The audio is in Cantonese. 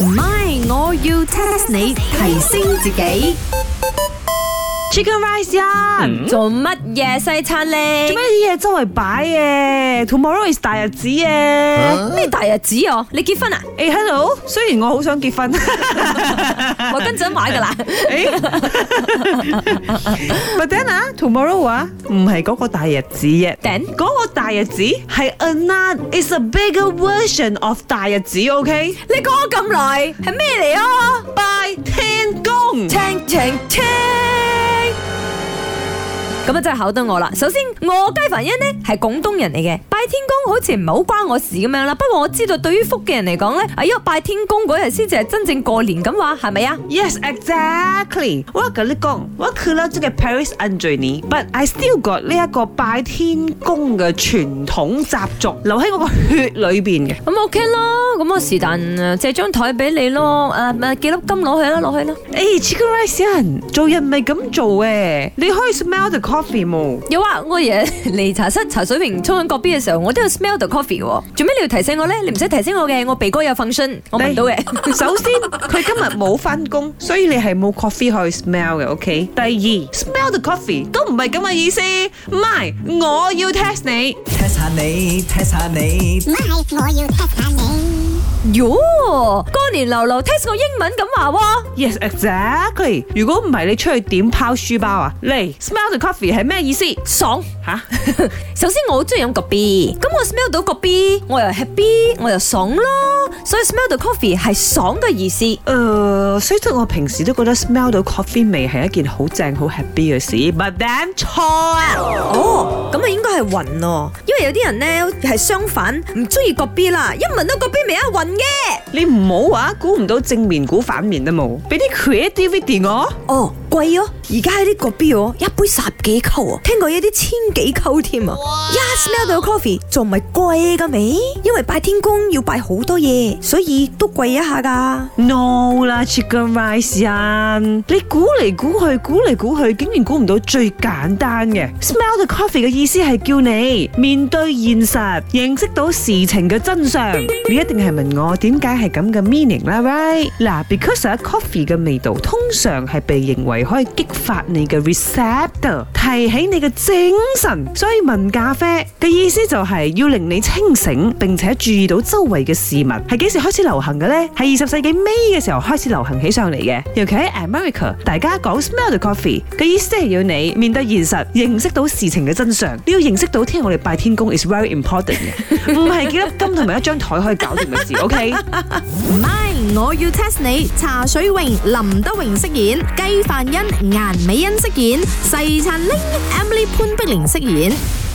唔係，我要 test 你提升自己。 Chicken rice 啊！ 做乜嘢西餐咧？ 做咩啲嘢周圍擺嘅 ？Tomorrow is 大日子嘅。 咩大日子啊？你結婚啊？ 誒 hello， 雖然我好想結婚， 我跟陣買噶啦。 But then 啊 ，tomorrow 啊，唔係嗰個大日子嘅。 Then 嗰個大日子係 another is a bigger version of 大日子，OK？ 你講咗咁耐，係咩嚟啊？ 拜天公， 聽。咁啊真係考得我啦！首先，我雞凡欣呢係廣東人嚟嘅，拜天公好似唔係好關我事咁樣啦。不過我知道對於福建人嚟講呢，因為拜天公嗰日先至係真正過年咁話，係咪啊 ？Yes, exactly。我跟你講，我去咗這個 Paris under 你 ，but I still got 呢一個拜天公嘅傳統習俗留喺我個血裏邊嘅。 咁 OK 啦，咁我是但借張台俾你咯，幾粒金攞去啦，攞去啦。 Chicken rice 人做人唔係咁做嘅，你可以 smell the coffee 冇？ 有啊，我日嚟茶室茶水瓶沖緊個 B 嘅時候，我都有 smell the coffee 喎。做咩你要提醒我咧？你唔使提醒我嘅，我鼻哥有 function， 我聞到嘅。 首先，佢今日冇翻工，所以你係冇 coffee 可以 smell 嘅 ，OK？ 第二 ，smell the coffee 都唔係咁嘅意思，唔係，我要 test 你 ，test 下你， 唔係，我要 test 下你。 喲，過年流流 test 我英文咁話喎。 Yes, exactly。如果唔係你出去點拋書包啊？嚟 smell the coffee 係咩意思？ 爽吓！ 首先我好中意飲個 B， 咁我 smell 到個 B， 我又 happy， 我又爽咯。所以 smell 到 coffee 係爽嘅意思。 雖則我平時都覺得 smell 到 coffee 味係一件好正好 happy 嘅事 ，but then 錯啊！ 哦，咁啊應該係暈咯，因為有啲人咧係相反，唔中意個 B 啦，一聞到個 B 味啊暈嘅。 你唔好話估唔到正面估反面都冇，俾啲 creativity 我。 哦，貴哦，而家喺呢個 B 哦，一杯10幾溝啊，聽過有啲千幾溝添啊！一 smell 到 coffee 仲唔係貴嘅味？因為拜天公要拜好多嘢，所以都貴一下噶。 No 啦 ，Chicken rice 人，你估嚟估去，竟然估唔到最簡單嘅 smell the coffee 嘅意思係叫你面對現實，認識到事情嘅真相。你一定係問我點解係咁嘅 meaning 啦 ，right？ 嗱 ，because coffee 嘅味道通常係被認為可以激發你嘅 receptor， 提起你嘅精神，所以聞咖啡嘅意思就係要令你清醒，並且注意到周圍嘅事物。係幾時開始流行嘅呢？係20世紀尾嘅時候開始流行起上嚟嘅。尤其喺 America， 大家講 smell the coffee 嘅意思係要你面對現實，認識到事情嘅真相。你要認識到聽日我哋拜天公 is very important 嘅，唔係幾粒金同埋一張台可以搞掂嘅事。OK， 唔係，我要 test 你。茶水榮、林德榮飾演，雞范欣、顏美欣飾演，細燦玲、Emily 潘碧玲飾演。